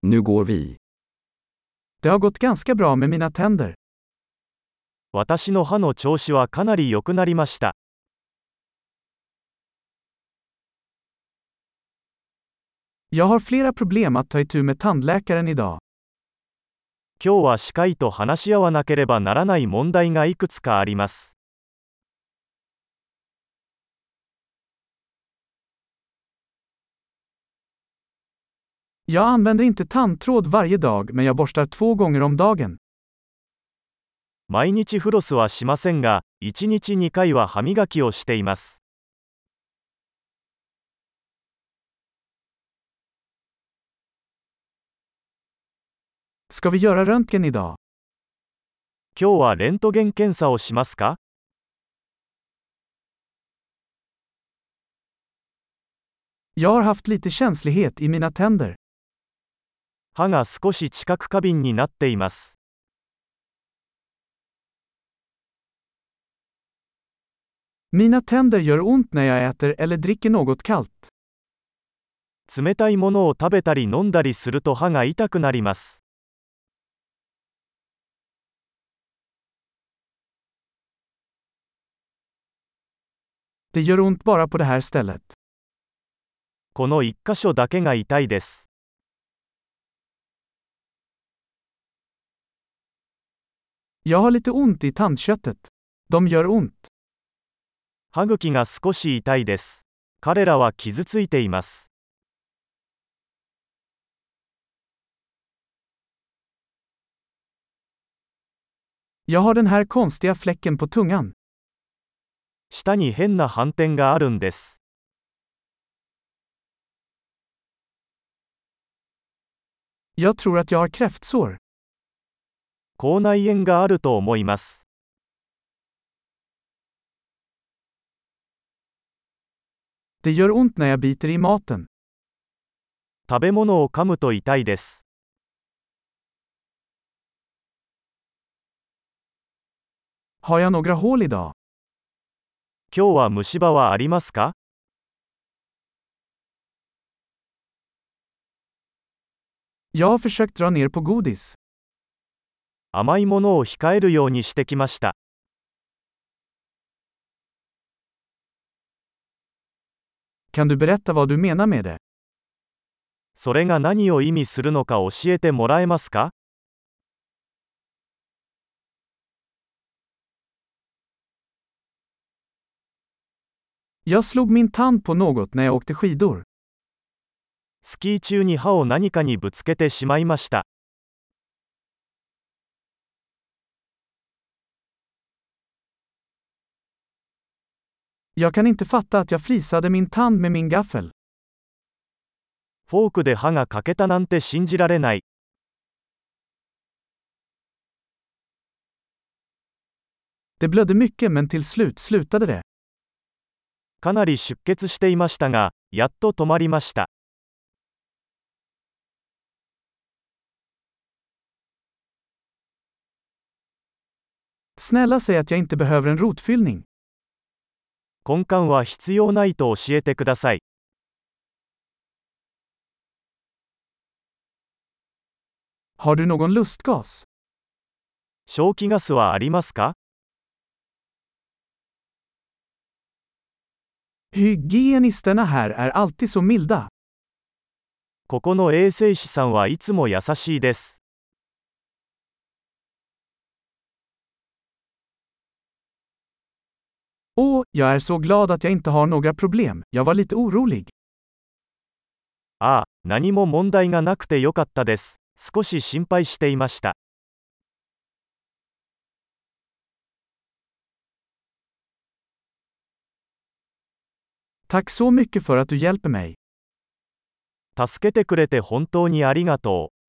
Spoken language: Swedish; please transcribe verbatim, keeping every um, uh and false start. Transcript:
Nu går vi. Det har gått ganska bra med mina tänder. 私の歯の調子はかなり良くなりました。 Jag har flera problem att ta itu med tandläkaren idag. 今日は歯科医と話し合わなければならない問題がいくつかあります。 Jag använder inte tandtråd varje dag, men jag borstar två gånger om dagen. 毎日フロスはしませんが、いちにちにかいは歯磨きをしています。 Ska vi göra röntgen idag? 今日はレントゲン検査をしますか？ Jag har haft lite känslighet i mina tänder. 歯が少し知覚過敏になっています。 Mina tänder gör ont när jag äter eller dricker något kallt. 冷たいものを食べたり飲んだりすると歯が痛くなります。 Det gör ont bara på det här stället. この一箇所だけが痛いです。 Jag har lite ont i tandköttet. De gör ont. 歯茎が少し痛いです。彼らは傷ついています。 Jag har den här konstiga fläcken på tungan. 舌に変な斑点があるんです。 Jag tror att jag har kräftsår. 口内炎があると思います。 Det gör ont när jag biter i maten. 食べ物を噛むと痛いです。 Har jag några hål idag? 今日は虫歯はありますか？ Jag har försökt dra ner på godis. 甘いものを控えるようにしてきました。 Kan du berätta vad du menar med det? それが何を意味するのか教えてもらえますか？ Jag slog min tand på något när jag åkte skidor. スキー中に歯を何かにぶつけてしまいました。 Jag kan inte fatta att jag flisade min tand med min gaffel. フォークで歯が欠けたなんて信じられない。 Det blödde mycket, men till slut slutade det. かなり出血していましたが、やっと止まりました。 Snälla säg att jag inte behöver en rotfyllning. 根幹は必要ないと教えてください。 Har du någon lustgas? 消気ガスはありますか？ Hygienisterna här är alltid så milda. ここの衛生士さんはいつも優しいです。 Åh, jag är så glad att jag inte har några problem. Jag var lite orolig. ああ、何も問題がなくてよかったです。少し心配していました。 Tack så mycket för att du hjälper mig. 助けてくれて本当にありがとう。